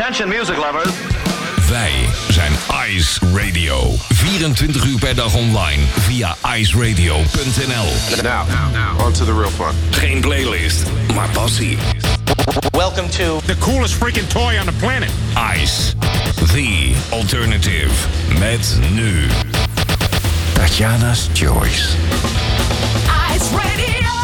Attention music lovers. Wij zijn Ice Radio. 24 uur per dag online via iceradio.nl. Now, on to the real fun. Geen playlist, maar passie. Welcome to the coolest freaking toy on the planet. Ice, the alternative. Met nu Tatjana's Choice. Ice Radio.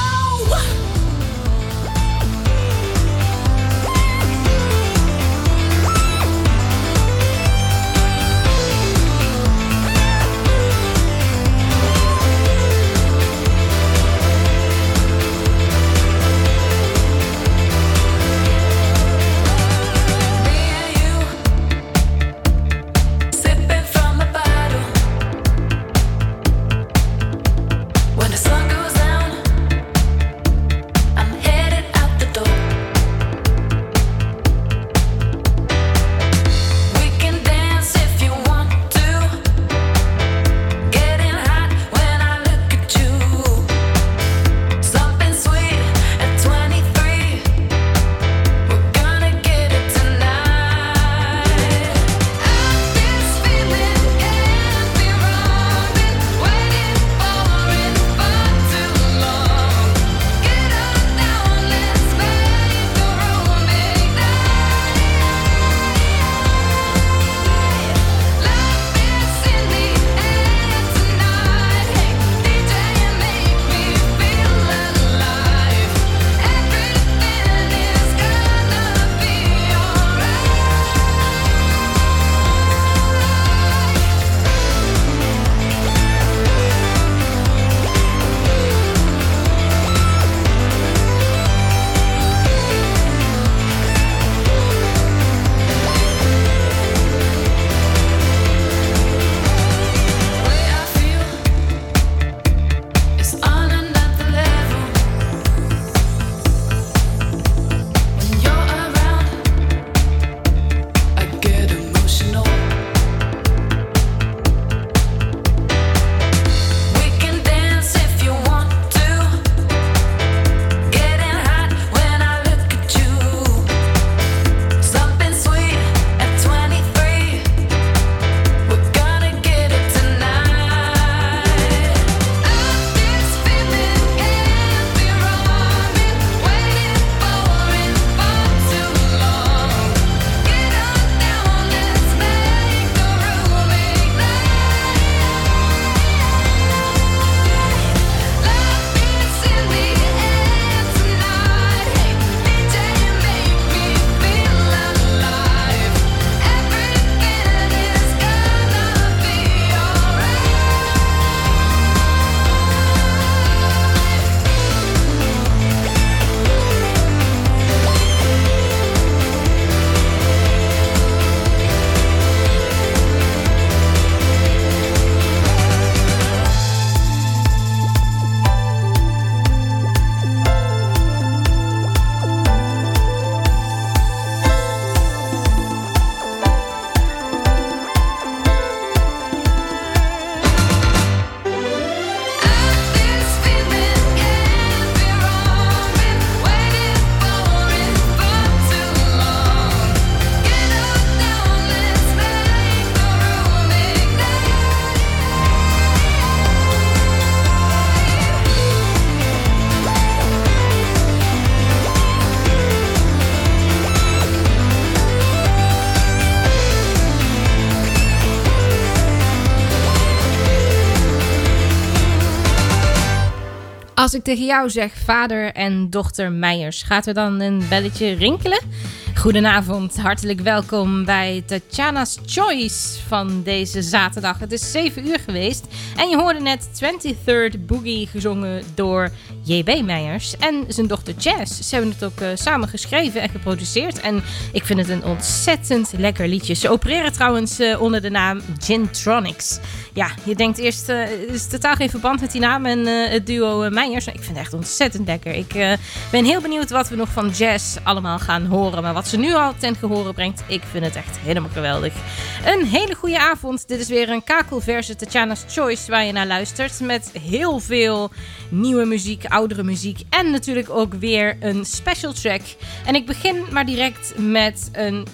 Als ik tegen jou zeg vader en dochter Meijers, gaat er dan een belletje rinkelen? Goedenavond, hartelijk welkom bij Tatjana's Choice van deze zaterdag. Het is 7 uur geweest en je hoorde net 23rd Boogie gezongen door J.B. Meijers en zijn dochter Jazz. Ze hebben het ook samen geschreven en geproduceerd en ik vind het een ontzettend lekker liedje. Ze opereren trouwens onder de naam Gintronics. Ja, je denkt eerst, er is totaal geen verband met die naam en het duo Meijers. Ik vind het echt ontzettend lekker. Ik ben heel benieuwd wat we nog van Jazz allemaal gaan horen, maar wat ze nu al ten gehore brengt, ik vind het echt helemaal geweldig. Een hele goede avond. Dit is weer een kakelverse Tatjana's Choice waar je naar luistert met heel veel nieuwe muziek, oudere muziek en natuurlijk ook weer een special track. En ik begin maar direct met een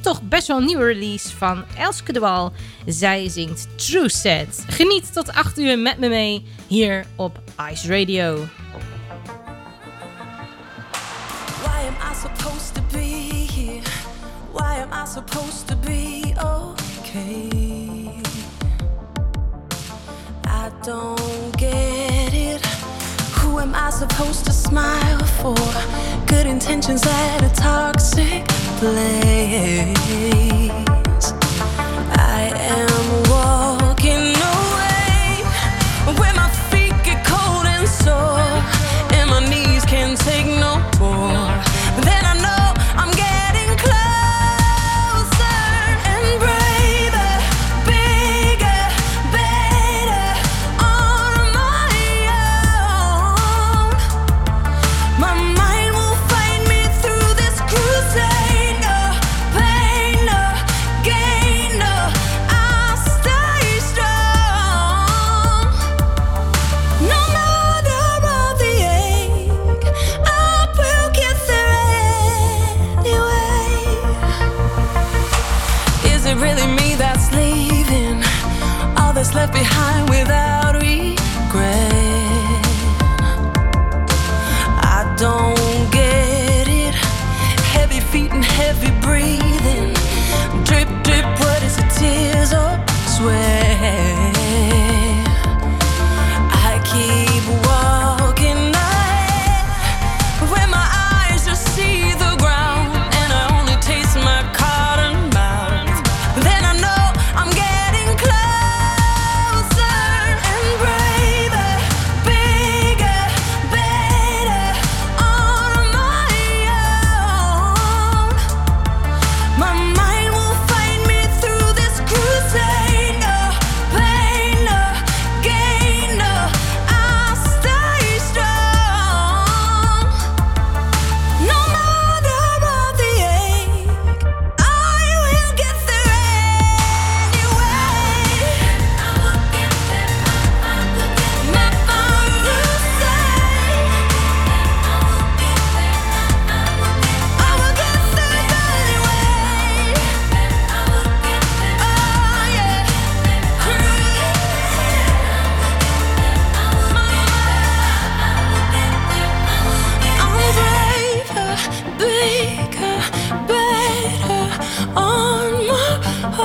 toch best wel een nieuwe release van Elske de Wal. Zij zingt True Set. Geniet tot 8 uur met me mee hier op Ice Radio. Why am I supposed to be here? Why am I supposed to be okay? I don't get it. Who am I supposed to smile for? Good intentions at a toxic place. I am walking away when my feet get cold and sore and my knees can't take no more. But then I know I'm getting closer and braver, bigger, better on my own. My mind will find me through this crusade. No pain, no gain, no, I'll stay strong. No matter all the ache, I will get there anyway. Is it really me that's leaving? All that's left behind without regret? I don't get it. Heavy feet and heavy breathing. Drip, drip, what is it? Tears or sweat? I keep walking ahead when my eyes just see the ground and I only taste my cotton mouth. Then I know I'm getting closer and braver, bigger, better on my own. My mind will find me through this crusade. No pain, no gain, no, I'll stay strong. No matter all the ache, I will get there anyway. I will get there. My father say I will get there anyway. Oh yeah, I'm braver, bigger, better on my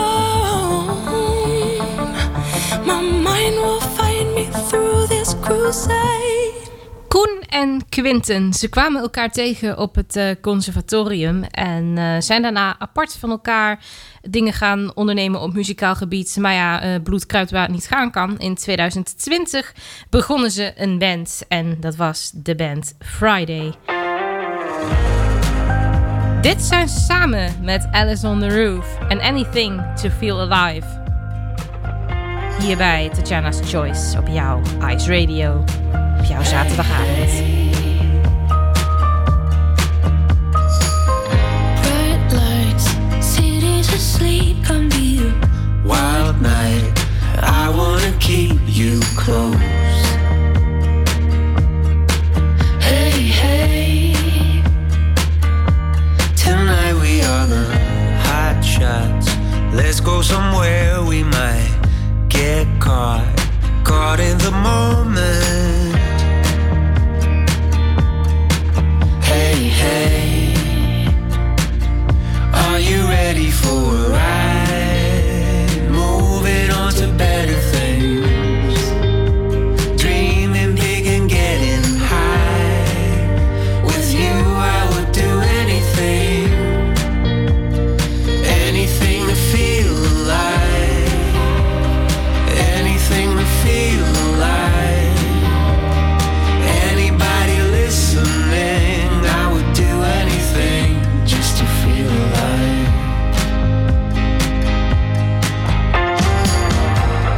own. My mind will find me through this crusade. Koen en Quinten, ze kwamen elkaar tegen op het conservatorium en zijn daarna apart van elkaar dingen gaan ondernemen op muzikaal gebied. Maar ja, bloed kruipt waar het niet gaan kan. In 2020 begonnen ze een band en dat was de band Friday. Dit zijn ze samen met Alice on the Roof en Anything to Feel Alive. Hier bij Tatjana's Choice op jouw Ice Radio. Op jouw zaterdagavond. Bright lights, cities asleep, come to you. Wild night, I wanna keep you close. Hey, hey, tonight we are the hot shots. Let's go somewhere we might get caught in the moment. Hey, hey, are you ready for a ride? Moving on to better things. Dreaming big and getting high. With you I would do anything. Anything to feel alive. Anything to feel alive. Anybody listening, I would do anything just to feel alive.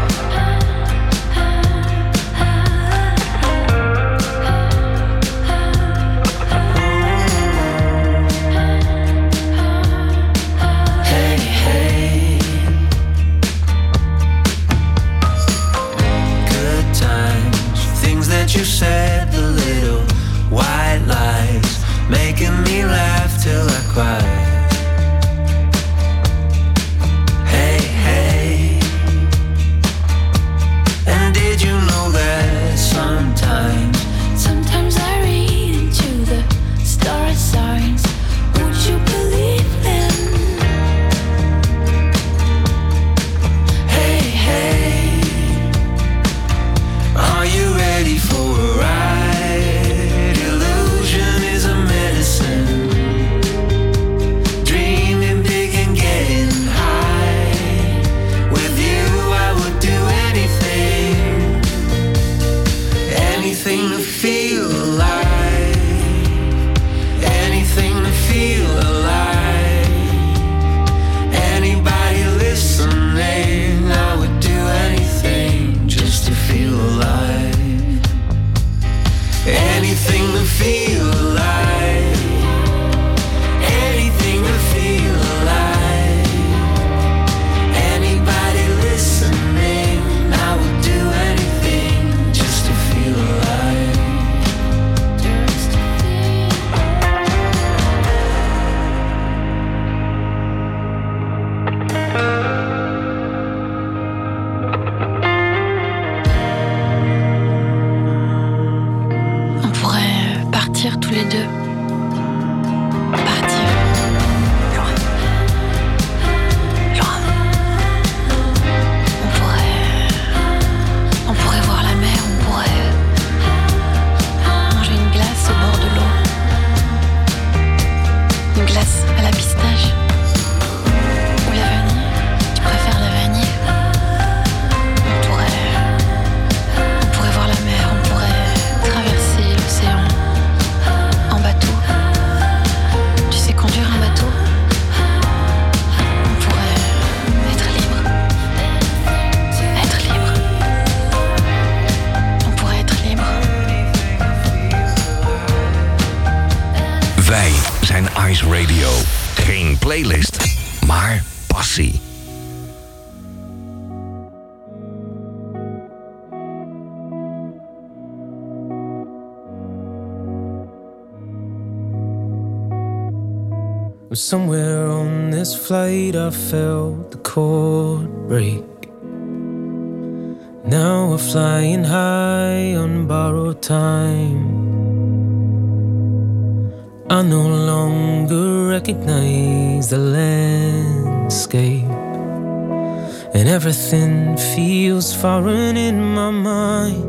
Ice Radio. Geen playlist, maar passie. Somewhere on this flight I felt the cord break. Now we're flying high on borrowed time. I no longer recognize the landscape, and everything feels foreign in my mind.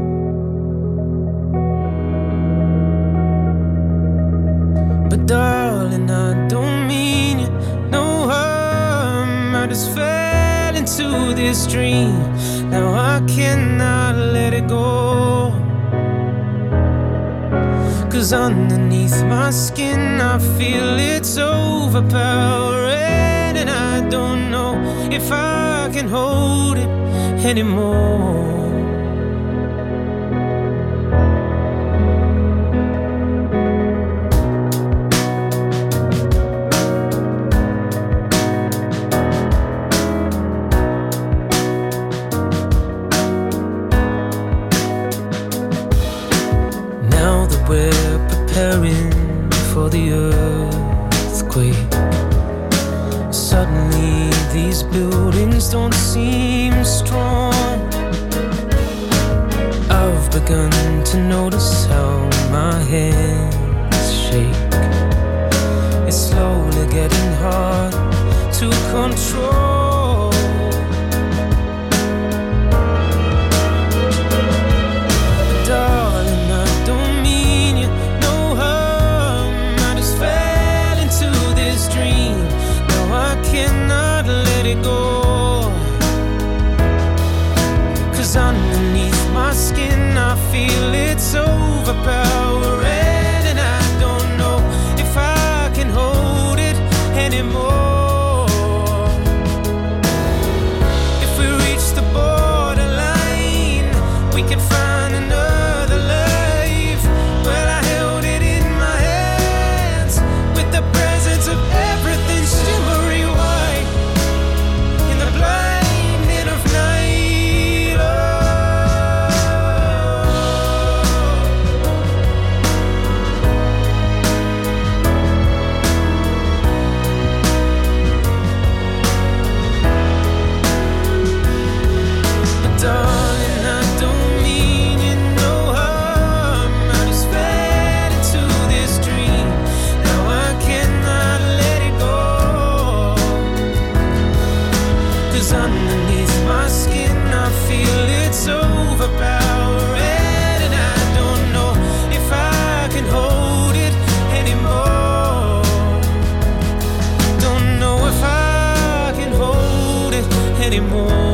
But darling, I don't mean you no harm. I just fell into this dream. Now I cannot let it go. 'Cause underneath my skin I feel it's overpowering, and I don't know if I can hold it anymore. We're preparing for the earthquake. Suddenly these buildings don't seem strong. I've begun to notice how my hands shake. It's slowly getting hard to control. Darling, I don't mean you no harm. I just fell into this dream. Now I cannot let it go. 'Cause underneath my skin I feel it's overpowering, and I don't know if I can hold it anymore. If we reach the borderline, we can find another life. Well, I held it in my hands with the presence of everything shimmery white in the blinding of night. Oh. But darling, I don't mean you no harm. I just fell into this dream. Now I cannot let it go. 'Cause underneath my skin I feel it's overpowering, and I don't know if I can hold it anymore. Don't know if I can hold it anymore.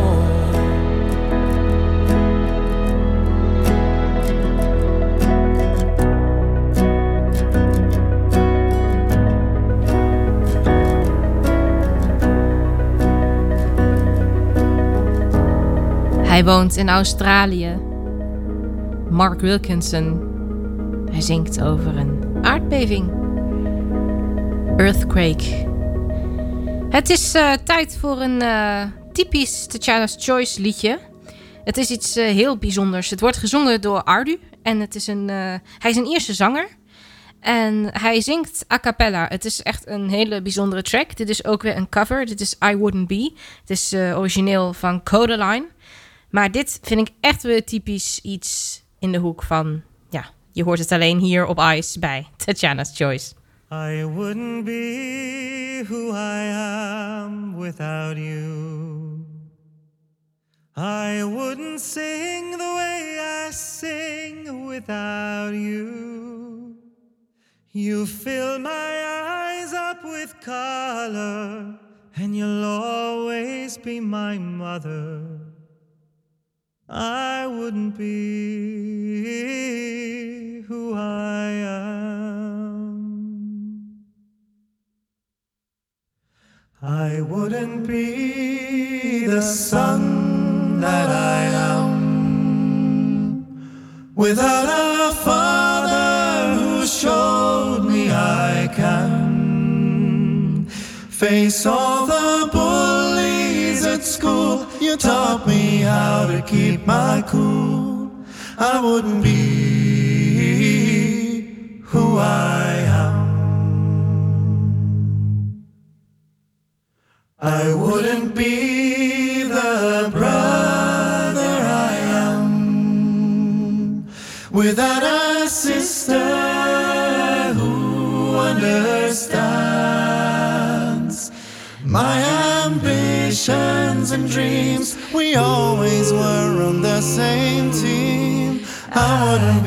Hij woont in Australië. Mark Wilkinson. Hij zingt over een aardbeving. Earthquake. Het is tijd voor een typisch Tatjana's Choice liedje. Het is iets heel bijzonders. Het wordt gezongen door Ardu. En het is hij is een Ierse zanger. En hij zingt a cappella. Het is echt een hele bijzondere track. Dit is ook weer een cover. Dit is I Wouldn't Be. Het is origineel van Codaline. Maar dit vind ik echt weer typisch iets in de hoek van... Ja, je hoort het alleen hier op Ice bij Tatjana's Choice. I wouldn't be who I am without you. I wouldn't sing the way I sing without you. You fill my eyes up with color, and you'll always be my mother. I wouldn't be who I am. I wouldn't be the son that I am without a father who showed me I can face all the bullies at school. You taught me how to keep my cool. I wouldn't be who I am. I wouldn't be the brother I am without a sister who understands my ambitions and dreams. We always were on the same team. I wouldn't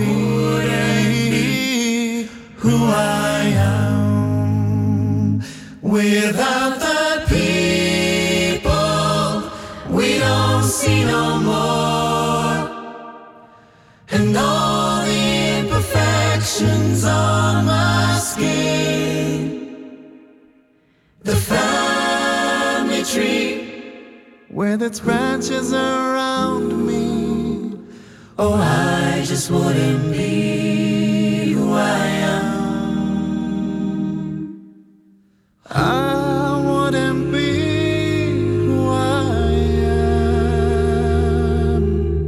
be who I am without the people we don't see no more, and all the imperfections on my skin. The family tree with its branches around me. Oh, I just wouldn't be who I am. I wouldn't be who I am.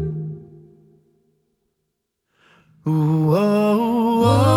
Ooh, oh, oh.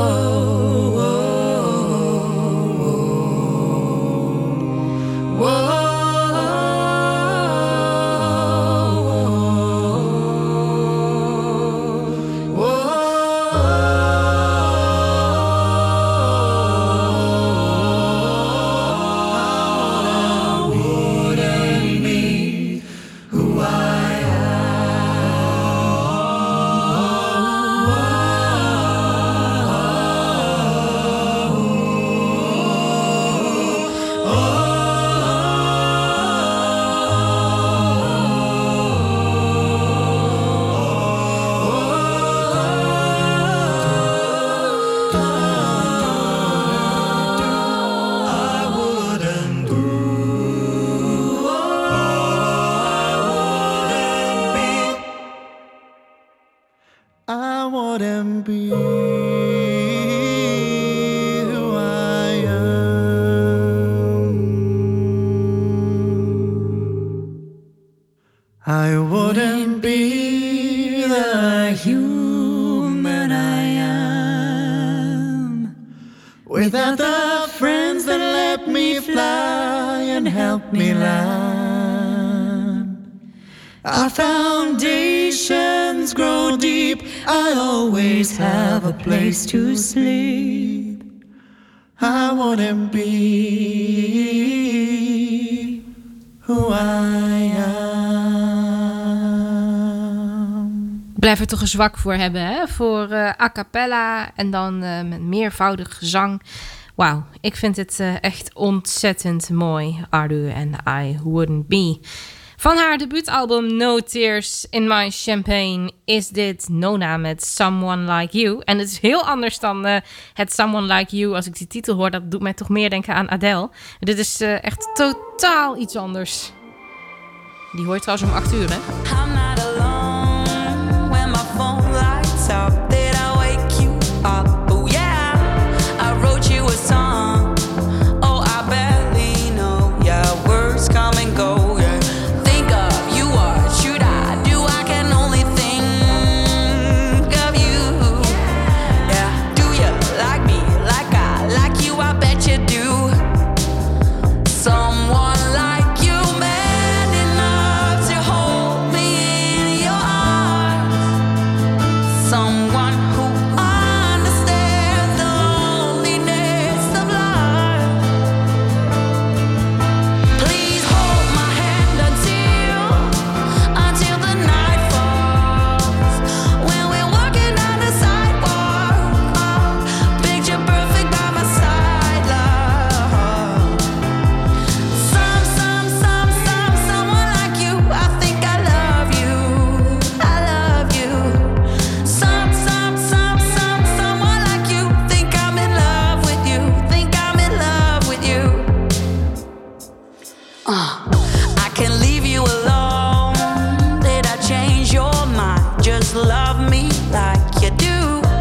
I wouldn't be who I am. I wouldn't be the human I am without the friends that let me fly and help me land. Our foundations grow deep. I always have a place to sleep. I wouldn't be who I am. Blijf er toch een zwak voor hebben, hè? Voor a cappella en dan met meervoudig gezang. Wauw, ik vind het echt ontzettend mooi. Ardu en I Wouldn't Be. Van haar debuutalbum No Tears in My Champagne is dit Nona met Someone Like You. En het is heel anders dan het Someone Like You. Als ik die titel hoor, dat doet mij toch meer denken aan Adele. Dit is echt totaal iets anders. Die hoor je trouwens om 8 uur, hè? I'm not alone when my phone lights up. Did I wake you up? Oh yeah, I wrote you a song. Oh, I barely know. Yeah, words come and go.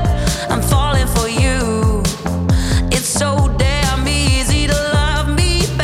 So damn easy to love me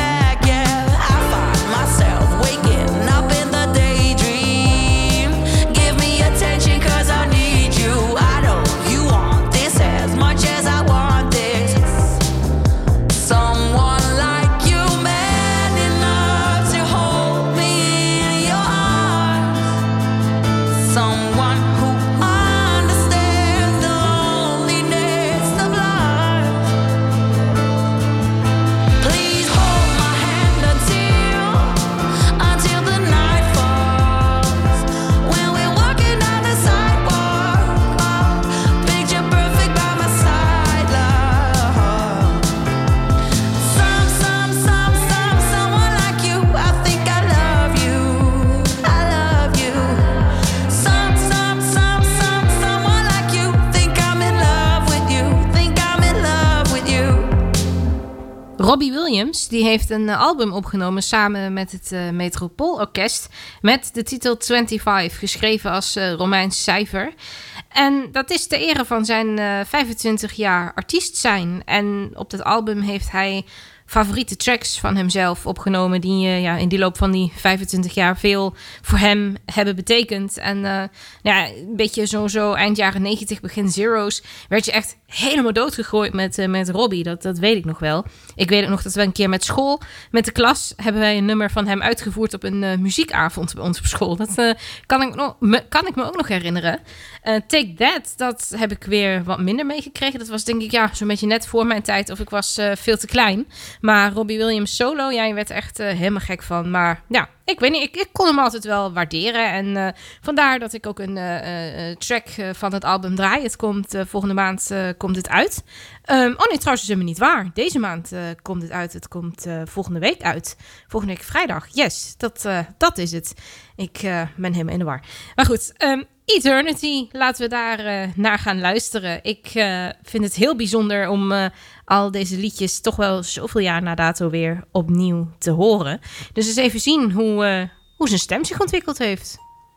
Robbie Williams die heeft een album opgenomen samen met het Metropoolorkest met de titel 25, geschreven als Romeins cijfer. En dat is ter ere van zijn 25 jaar artiest zijn. En op dat album heeft hij favoriete tracks van hemzelf opgenomen die in die loop van die 25 jaar veel voor hem hebben betekend. En een beetje zo eind jaren 90, begin zero's, werd je echt helemaal doodgegooid met Robbie. Dat weet ik nog wel. Ik weet ook nog dat we een keer met school, met de klas, hebben wij een nummer van hem uitgevoerd op een muziekavond bij ons op school. Dat kan ik me ook nog herinneren. Take That, dat heb ik weer wat minder meegekregen. Dat was denk ik zo'n beetje net voor mijn tijd of ik was veel te klein. Maar Robbie Williams solo, je werd echt helemaal gek van. Maar ja, ik weet niet, ik kon hem altijd wel waarderen. En vandaar dat ik ook een track van het album draai. Het komt volgende maand komt het uit. Nee, trouwens is helemaal niet waar. Deze maand komt het uit. Het komt volgende week uit. Volgende week vrijdag. Yes, dat is het. Ik ben helemaal in de war. Maar goed, Eternity, laten we daar naar gaan luisteren. Ik vind het heel bijzonder om al deze liedjes toch wel zoveel jaar na dato weer opnieuw te horen. Dus eens even zien hoe zijn stem zich ontwikkeld heeft.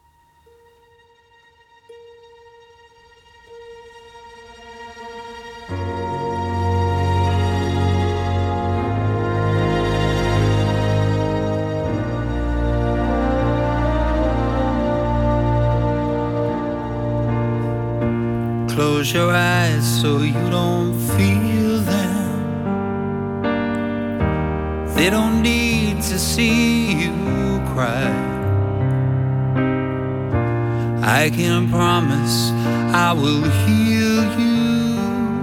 Close your eyes so you don't feel them. They don't need to see you cry. I can promise I will heal you,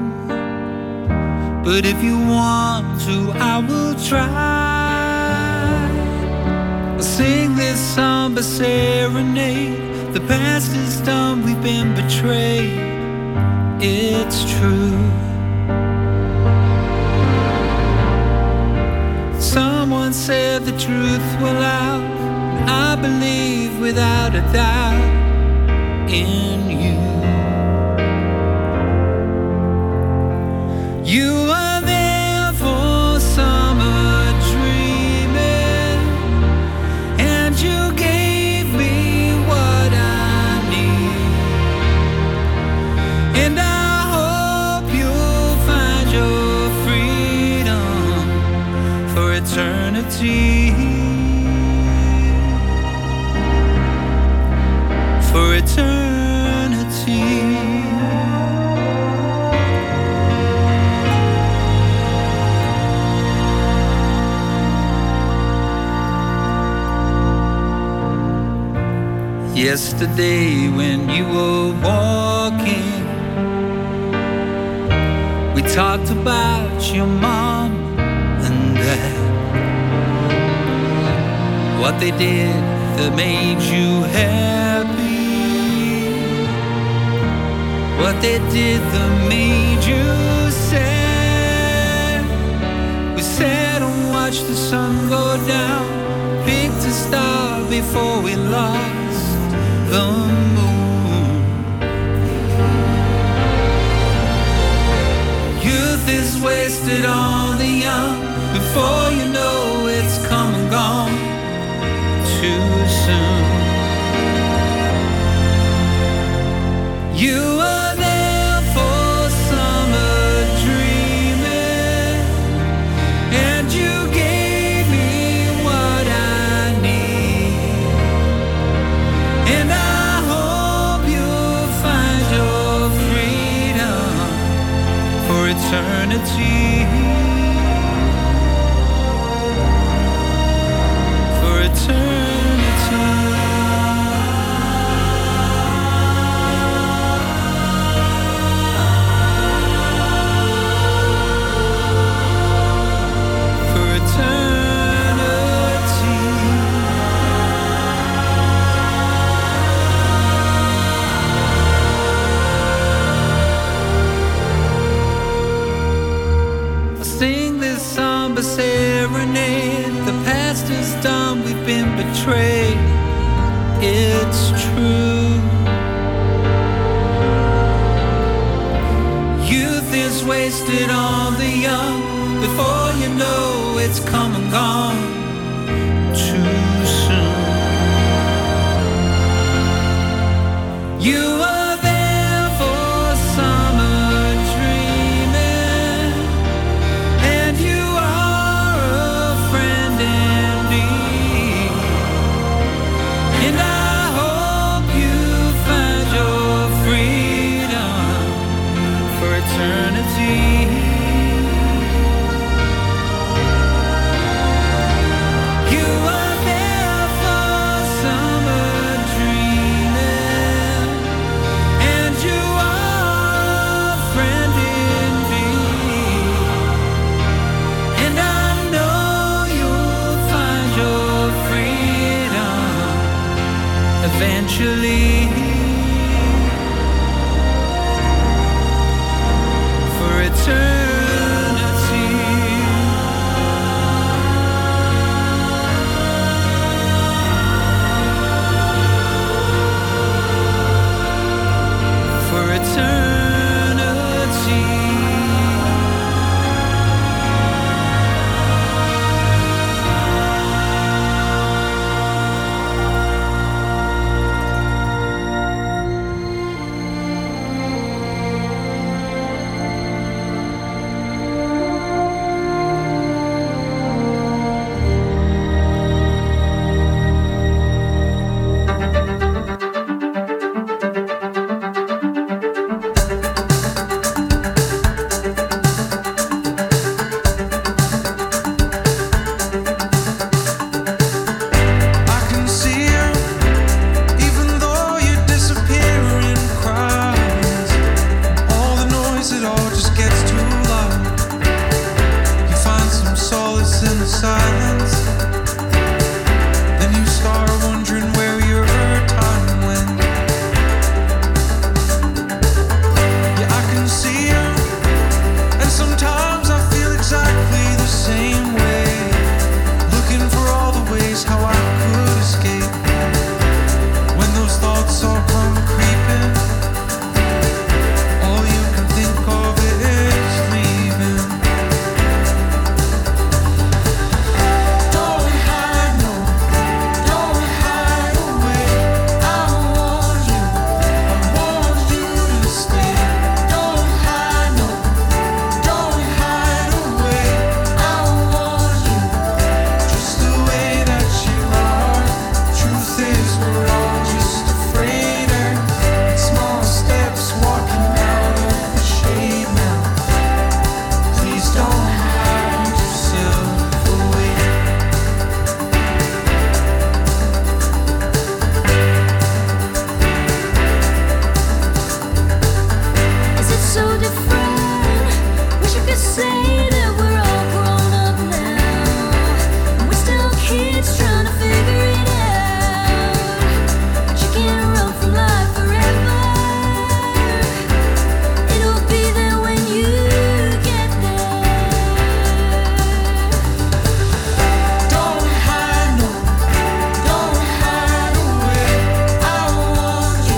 but if you want to, I will try. I'll sing this somber serenade. The past is done, we've been betrayed. It's true. Someone said the truth will out. I believe without a doubt in you. You are there for summer dreaming, and you gave me what I need. And I hope you'll find your freedom for eternity. For eternity. Yesterday when you were walking, we talked about your mom and dad, what they did that made you happy, what they did that made you sad. We sat and watched the sun go down, picked a star before we lost the moon. Youth is wasted on the young. Before you know it's come and gone too soon. You are there for summer dreaming, and you gave me what I need. And I hope you'll find your freedom for eternity. For eternity. Serenade, the past is done, we've been betrayed. It's true. Youth is wasted on the young. Before you know it's come and gone too soon. You were there for summer dreaming, and you are a friend indeed. And I hope you find your freedom for eternity. You were there for summer dreaming, and you are a friend indeed. And I know you'll find your freedom eventually. For eternity. For eternity. I can see you, even though you disappear in crowds. All the noise, it all just gets too loud. You find some solace in the silence. Then you start wondering where your time went. Yeah, I can see you, and sometimes I feel exactly the same way. Looking for all the ways how I could escape. When those thoughts all come creeping, all you can think of is leaving. Don't hide, no, don't hide away. I want you to stay. Don't hide, no, don't hide away. I want you just the way that you are. Truth is, we're all just afraid, and small steps walking out of the shade now. Please don't hide yourself away. Is it so different? Wish I could say that we're all grown up now. And we're still kids trying to figure it out. But you can't run from life forever. It'll be there when you get there. Don't hide, no, don't hide away. I want you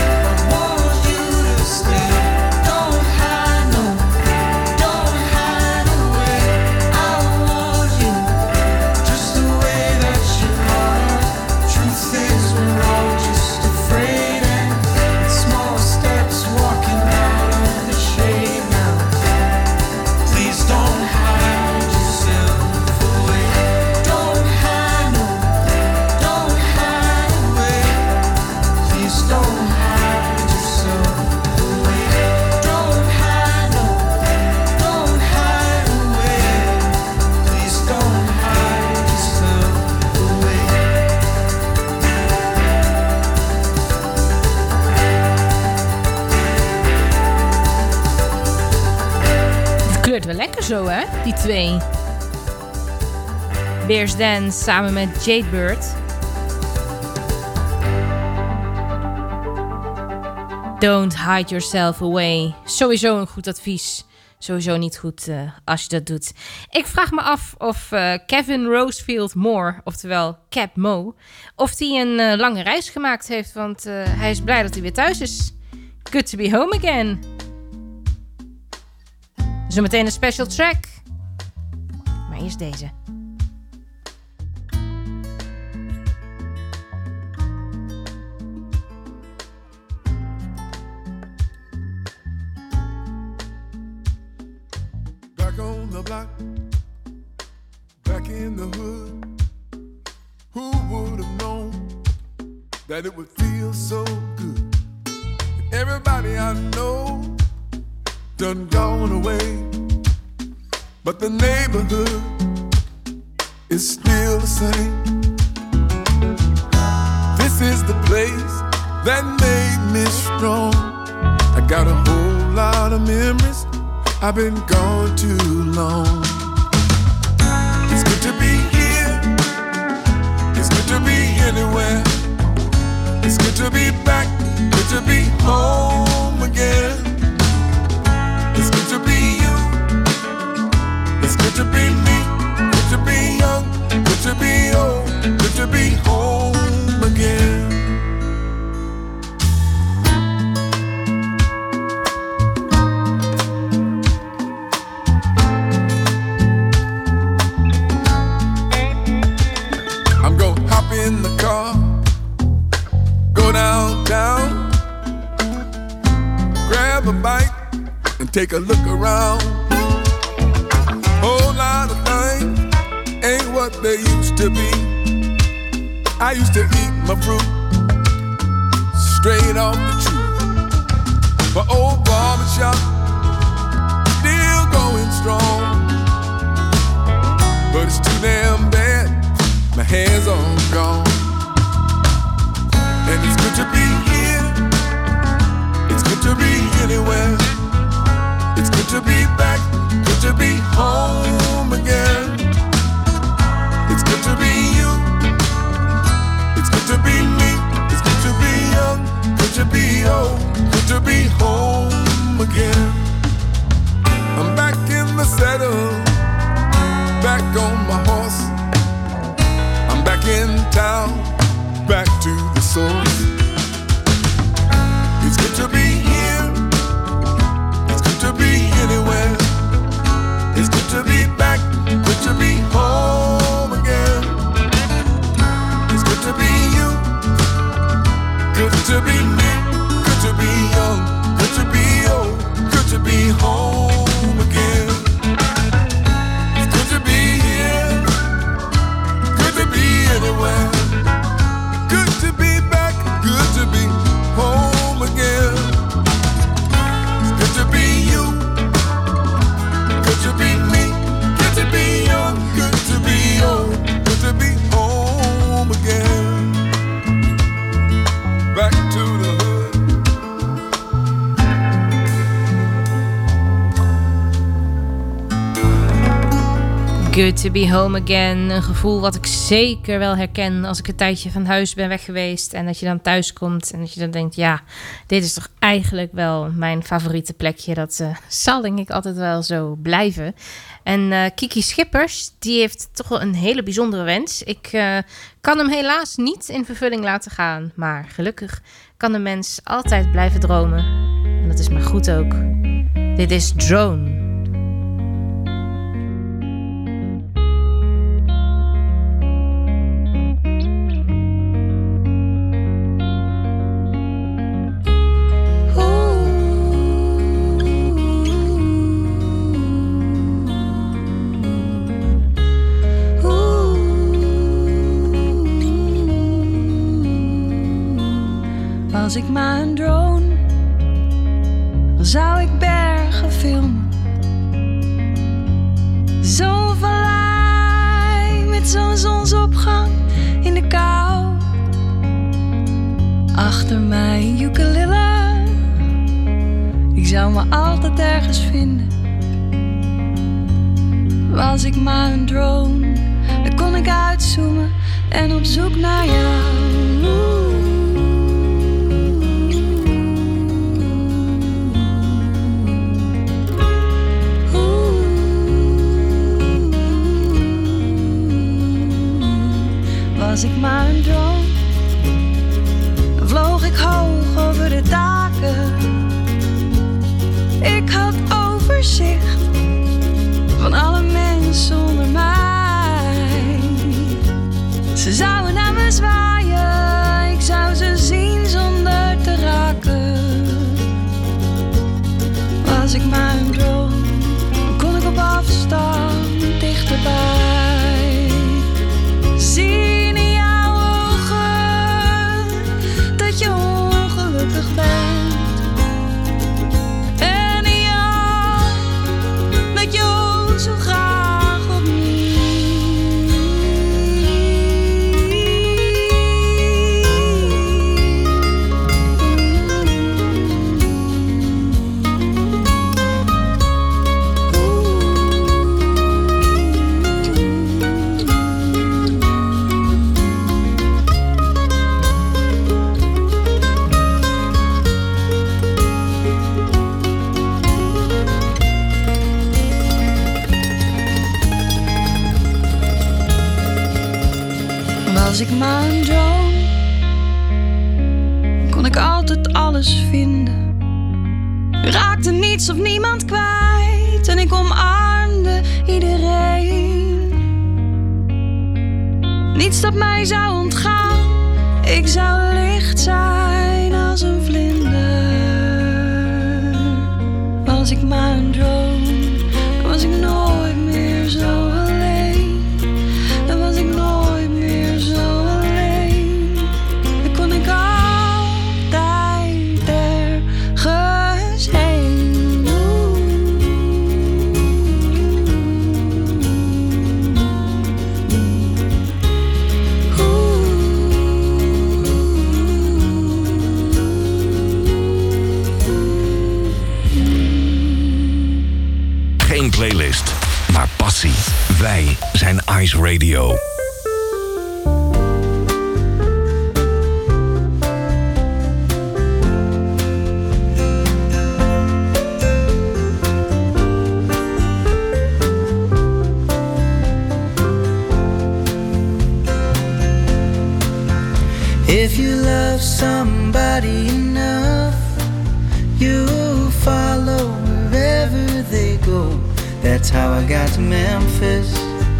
to stay. Don't hide, no, don't hide away. I want you just the way that you are. Truth is, we're all just afraid, and small steps walking out of the shade now. Please don't hide yourself away. Don't hide, no, don't hide away. Please don't hide yourself away. Don't hide, no, don't hide away. Please don't hide yourself away. Het kleurt wel lekker zo, hè? Die twee. Bears Dance samen met Jadebird. Don't hide yourself away. Sowieso een goed advies. Sowieso niet goed als je dat doet. Ik vraag me af of Kevin Rosefield Moore, oftewel Cap Mo, of hij een lange reis gemaakt heeft. Want hij is blij dat hij weer thuis is. Good to be home again. Zometeen een special track. Maar eerst deze. Back on the block, back in the hood. Who would have known that it would feel so good? Everybody I know done gone away, but the neighborhood is still the same. This is the place that made me strong. I got a whole lot of memories. I've been gone too long. It's good to be here. It's good to be anywhere. It's good to be back. Good to be home again. It's good to be you. It's good to be me. Good to be young. Good to be old. Good to be home again. In the car, go downtown, grab a bite and take a look around. Whole lot of things ain't what they used to be. I used to eat my fruit straight off the tree. My old barbershop still going strong, but it's too damn bad. My hair's all gone. And it's good to be here. It's good to be anywhere. It's good to be back. Good to be home again. It's good to be you. It's good to be me. It's good to be young. Good to be old. Good to be home again. I'm back in the saddle. Back on my horse. Back in town, back to the source. It's good to be here. It's good to be anywhere. It's good to be back. Good to be home again. It's good to be you. Good to be me. Good to be young. Good to be old. Good to be home again. It's good to be here. Good to be anywhere. Good to be back. Good to be home again. It's good to be you. Good to be me. Good to be young. Good to be old. Good to be home again. Back to the hood. Good to be home again. Een gevoel wat ik zeker wel herken als ik een tijdje van huis ben weg geweest. En dat je dan thuis komt en dat je dan denkt, ja, dit is toch eigenlijk wel mijn favoriete plekje. Dat zal denk ik altijd wel zo blijven. En Kiki Schippers, die heeft toch wel een hele bijzondere wens. Ik kan hem helaas niet in vervulling laten gaan. Maar gelukkig kan de mens altijd blijven dromen. En dat is maar goed ook. Dit is Drone. Als ik maar een drone, dan zou ik bergen filmen. Zo vallei met zo'n zonsopgang in de kou. Achter mij een ukulele, ik zou me altijd ergens vinden. Was ik maar een drone, dan kon ik uitzoomen en op zoek naar jou. Was ik maar een drone, dan vloog ik hoog over de daken. Ik had overzicht van alle mensen onder mij. Ze zouden naar me zwaaien, ik zou ze zien zonder te raken. Was ik maar een droom, dan kon ik op afstand dichterbij zien in jouw ogen dat je ongelukkig bent. En in jou dat je ook zo graag opnieuw. Was ik maar een droom, kon ik altijd alles vinden. Raakte niets of niemand kwijt en ik omarmde iedereen. Niets dat mij zou ontgaan, ik zou licht zijn als een vlinder. Was ik maar een droom, dan was ik nooit meer zo alleen. Dan was ik nooit meer zo alleen. Dan kon ik altijd ergens heen. Geen playlist, maar passie. Wij zijn Ice Radio. If you love somebody enough, you'll follow wherever they go. That's how I got to Memphis.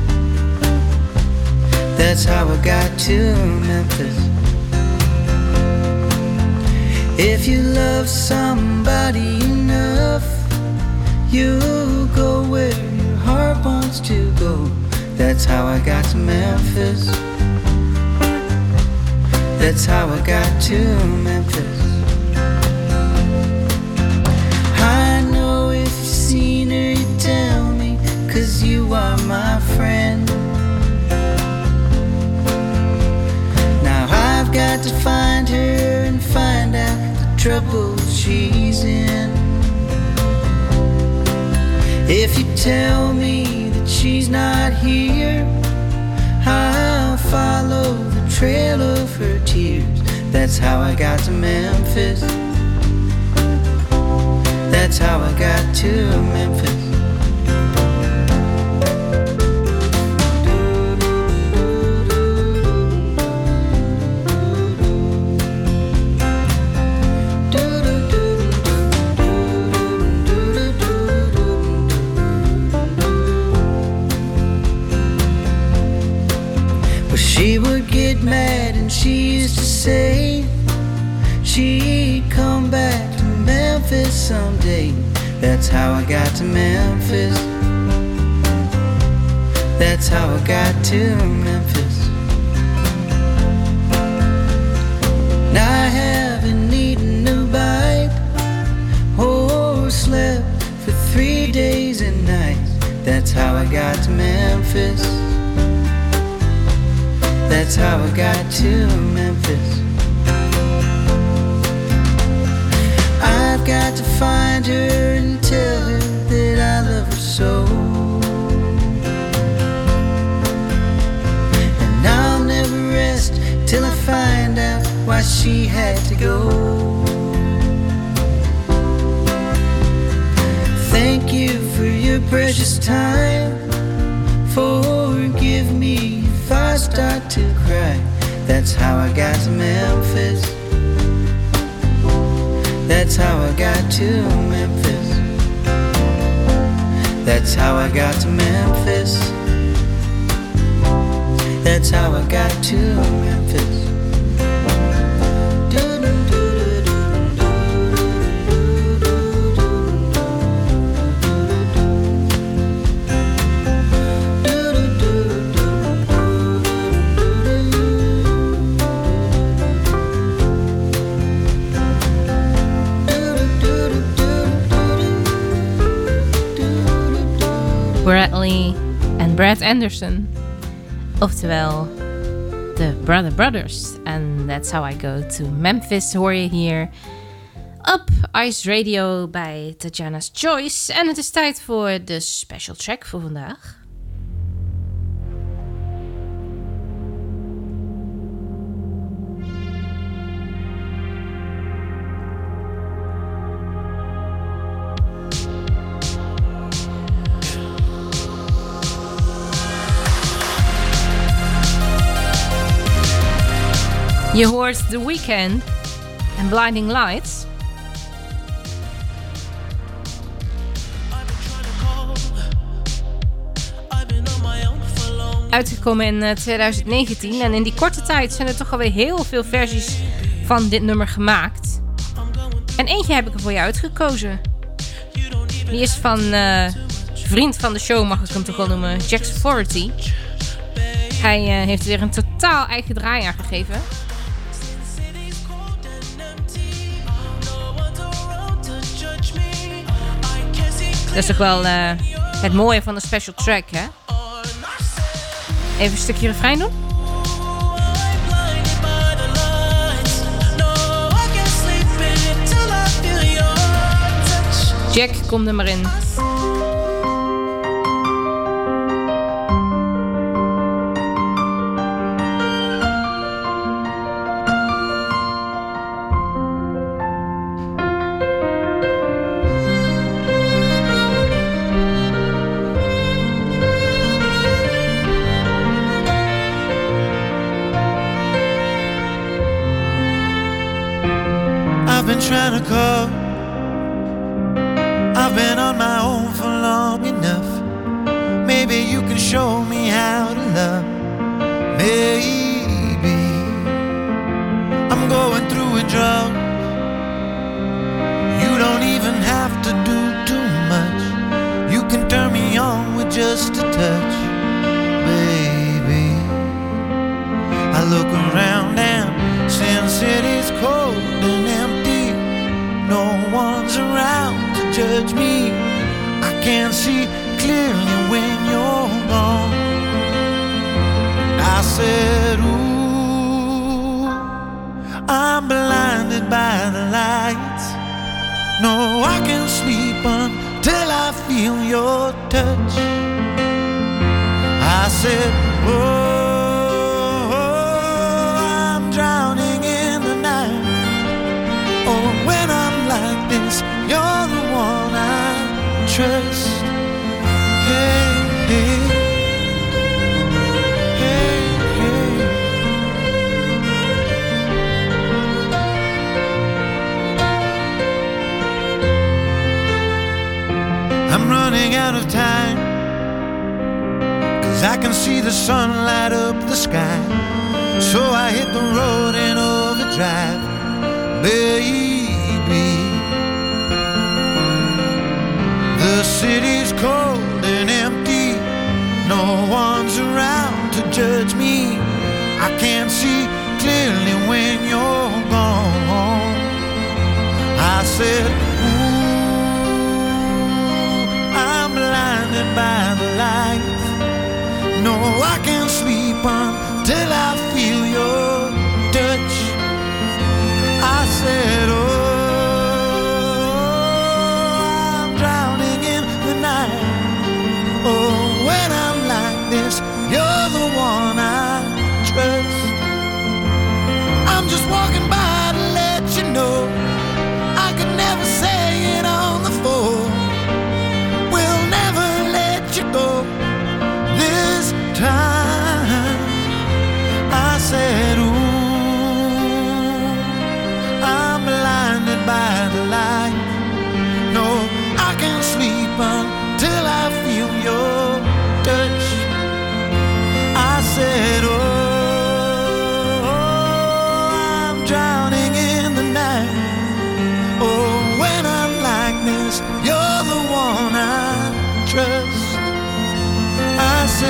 That's how I got to Memphis. If you love somebody enough, you'll go where your heart wants to go. That's how I got to Memphis. That's how I got to Memphis. I know if you've seen her, you tell me, 'cause you are my friend. Now I've got to find her and find out the trouble she's in. If you tell me that she's not here, I'll follow the trail of her tears. That's how I got to Memphis. That's how I got to Memphis. She would get mad and she used to say she'd come back to Memphis someday. That's how I got to Memphis. That's how I got to Memphis. Now I haven't eaten a bite or slept for 3 days and nights. That's how I got to Memphis. That's how I got to Memphis. I've got to find her and tell her that I love her so. And I'll never rest till I find out why she had to go. Thank you for your precious time. Forgive me if I start to cry. That's how I got to Memphis. That's how I got to Memphis. That's how I got to Memphis. That's how I got to Memphis. Bradley en Brad Anderson. Oftewel de Brother Brothers. And That's How I Go to Memphis hoor je hier op Ice Radio bij Tatjana's Choice. En het is tijd voor de special track voor vandaag. Je hoort The Weeknd en Blinding Lights. Uitgekomen in 2019 en in die korte tijd zijn er toch alweer heel veel versies van dit nummer gemaakt. En eentje heb ik er voor je uitgekozen. Die is van vriend van de show, mag ik hem toch wel noemen, Jack's Authority. Hij heeft weer een totaal eigen draai aangegeven. Dat is toch wel het mooie van een special track, hè? Even een stukje refrein doen. Jack, kom er maar in. Been trying to call. I've been on my own for long enough. Maybe you can show me how to love. Maybe I'm going through a drought. You don't even have to do too much. You can turn me on with just a touch, baby. I look around and since it is cold and empty, no one's around to judge me. I can't see clearly when you're gone. I said, ooh, I'm blinded by the lights. No, I can't sleep until I feel your touch. I said, oh, I'm drowning in the night. Oh, when I'm like this, you're the one I trust. Hey, hey, hey, hey. I'm running out of time, 'cause I can see the sun light up the sky. So I hit the road in overdrive, baby. The city's cold and empty. No one's around to judge me. I can't see clearly when you're gone. I said, ooh, I'm blinded by the lights. No, I can't sleep until I feel your touch. I said, oh, I'm drowning in the night. Oh, when I'm like this, you're the one I trust. I'm just walking by to let you know I could never say it on the phone. We'll never let you go this time. I said, ooh, I'm blinded by the light. No, I can't sleep until I feel your touch.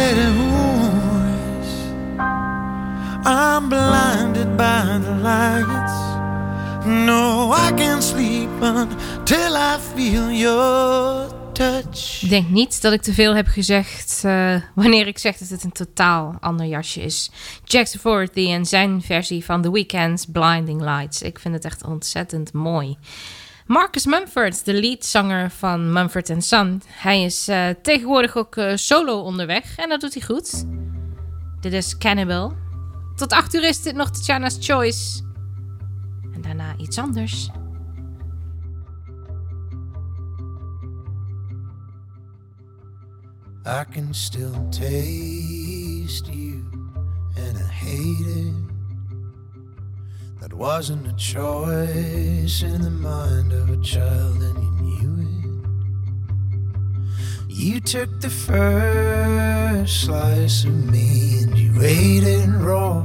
steady voice. I'm blinded by the lights. No, I can't sleep until I feel your touch. Ik denk niet dat ik te veel heb gezegd wanneer ik zeg dat het een totaal ander jasje is. Jackson Doherty en zijn versie van The Weeknd's Blinding Lights. Ik vind het echt ontzettend mooi. Marcus Mumford, de leadzanger van Mumford & Son. Hij is tegenwoordig ook solo onderweg en dat doet hij goed. Dit is Cannibal. Tot 8 uur is dit nog Tatjana's Choice. En daarna iets anders. I can still taste you, and I hate it. That wasn't a choice in the mind of a child, and you knew it. You took the first slice of me and you ate it raw.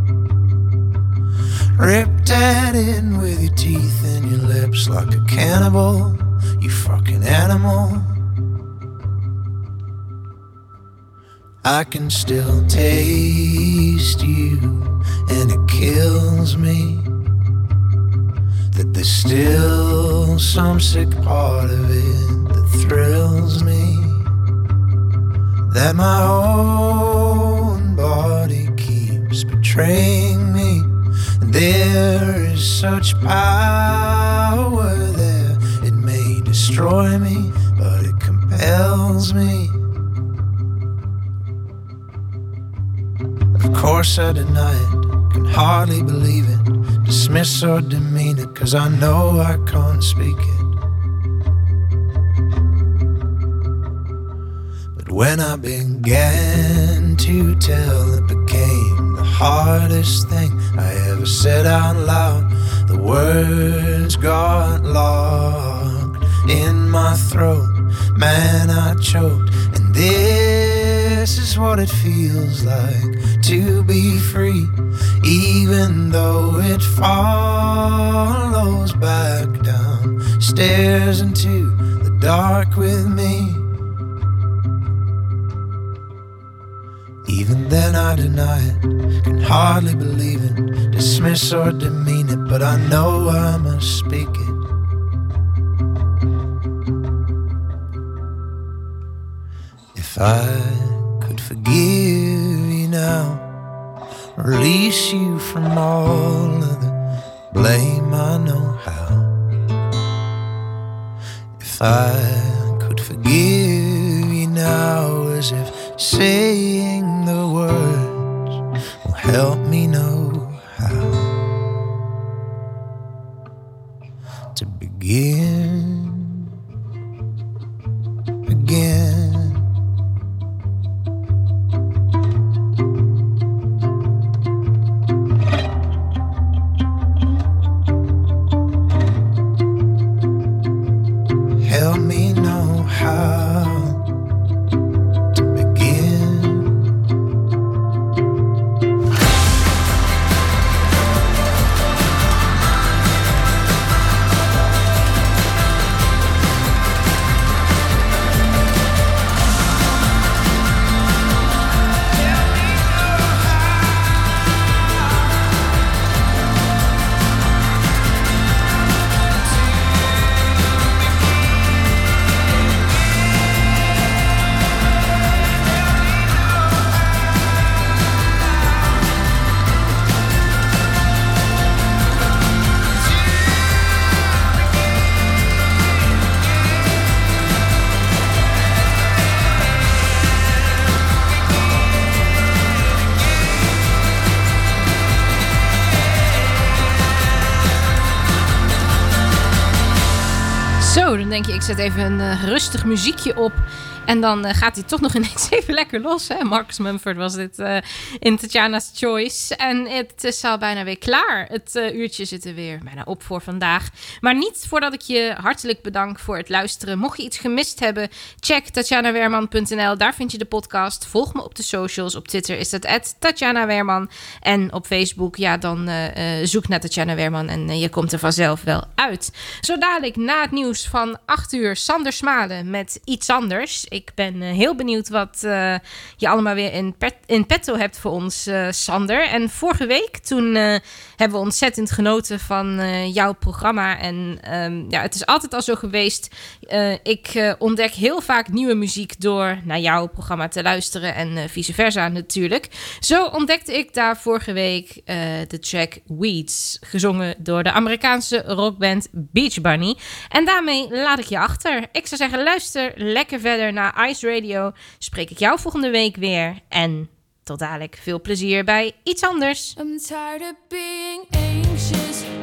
Ripped at it with your teeth and your lips like a cannibal, you fucking animal. I can still taste you, and it kills me that there's still some sick part of it that thrills me. That my own body keeps betraying me. And there is such power there, it may destroy me, but it compels me. Of course I deny it, can hardly believe it, dismiss or demean it, 'cause I know I can't speak it. But when I began to tell, it became the hardest thing I ever said out loud. The words got locked in my throat, man I choked, and this is what it feels like to be free, even though it follows back down stairs into the dark with me. Even then I deny it, can hardly believe it, dismiss or demean it, but I know I must speak it. If I could forgive you now, release you from all of the blame, I know how. If I could forgive you now, as if saying the words will help me know how to begin again. Help me know how to begin. Zo, dan denk je, ik zet even een rustig muziekje op. En dan gaat hij toch nog ineens even lekker los. Hè? Marcus Mumford was dit in Tatjana's Choice. En het is al bijna weer klaar. Het uurtje zit er weer bijna op voor vandaag. Maar niet voordat ik je hartelijk bedank voor het luisteren. Mocht je iets gemist hebben, check tatjanaweerman.nl. Daar vind je de podcast. Volg me op de socials. Op Twitter is dat @TatjanaWeerman. En op Facebook, ja, dan zoek naar Tatjana Weerman. En je komt er vanzelf wel uit. Zo dadelijk na het nieuws kloks van 8 uur Sander Smalen met Iets Anders. Ik ben heel benieuwd wat je allemaal weer in petto hebt voor ons, Sander. En vorige week, toen hebben we ontzettend genoten van jouw programma. En het is altijd al zo geweest. Ik ontdek heel vaak nieuwe muziek door naar jouw programma te luisteren en vice versa natuurlijk. Zo ontdekte ik daar vorige week de track Weeds, gezongen door de Amerikaanse rockband Beach Bunny. En daarmee laat ik je achter. Ik zou zeggen, luister lekker verder naar Ice Radio. Spreek ik jou volgende week weer. En tot dadelijk, veel plezier bij Iets Anders. I'm tired of being anxious.